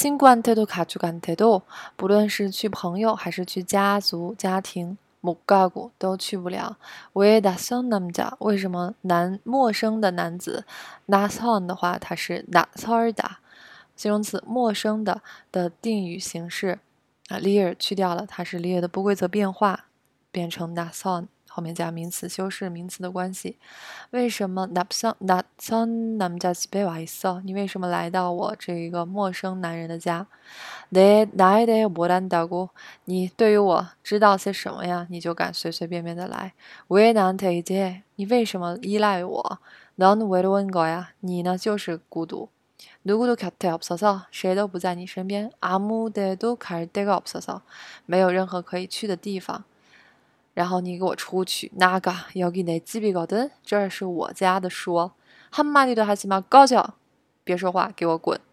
친구한테도 가족한테도 不论是去朋友还是去家族家庭못 가고都去不了。왜 낯선 남자？为什么陌生的男子？낯선的话，它是낯설다，形容词陌生的定语形式啊，lier去掉了，它是 lier的不规则变化，变成낯선，后面加名词修饰名词的关系。为什么낯선 남자 집에 와 있어？你为什么来到我这一个陌生男人的家？나에 대해 뭘 안다고？你对于我知道些什么呀？你就敢随随便便的来？왜 나한테 의지해？你为什么依赖我？넌 외로운 거야？你呢就是孤独。누구도 곁에 없어서，谁都不在你身边。아무데도 갈 데가 없어서，没有任何可以去的地方。然后你给我出去，나가 여기 내 집이거든，这是我家的说。한마디도 하지 마，꺼져，别说话，给我滚。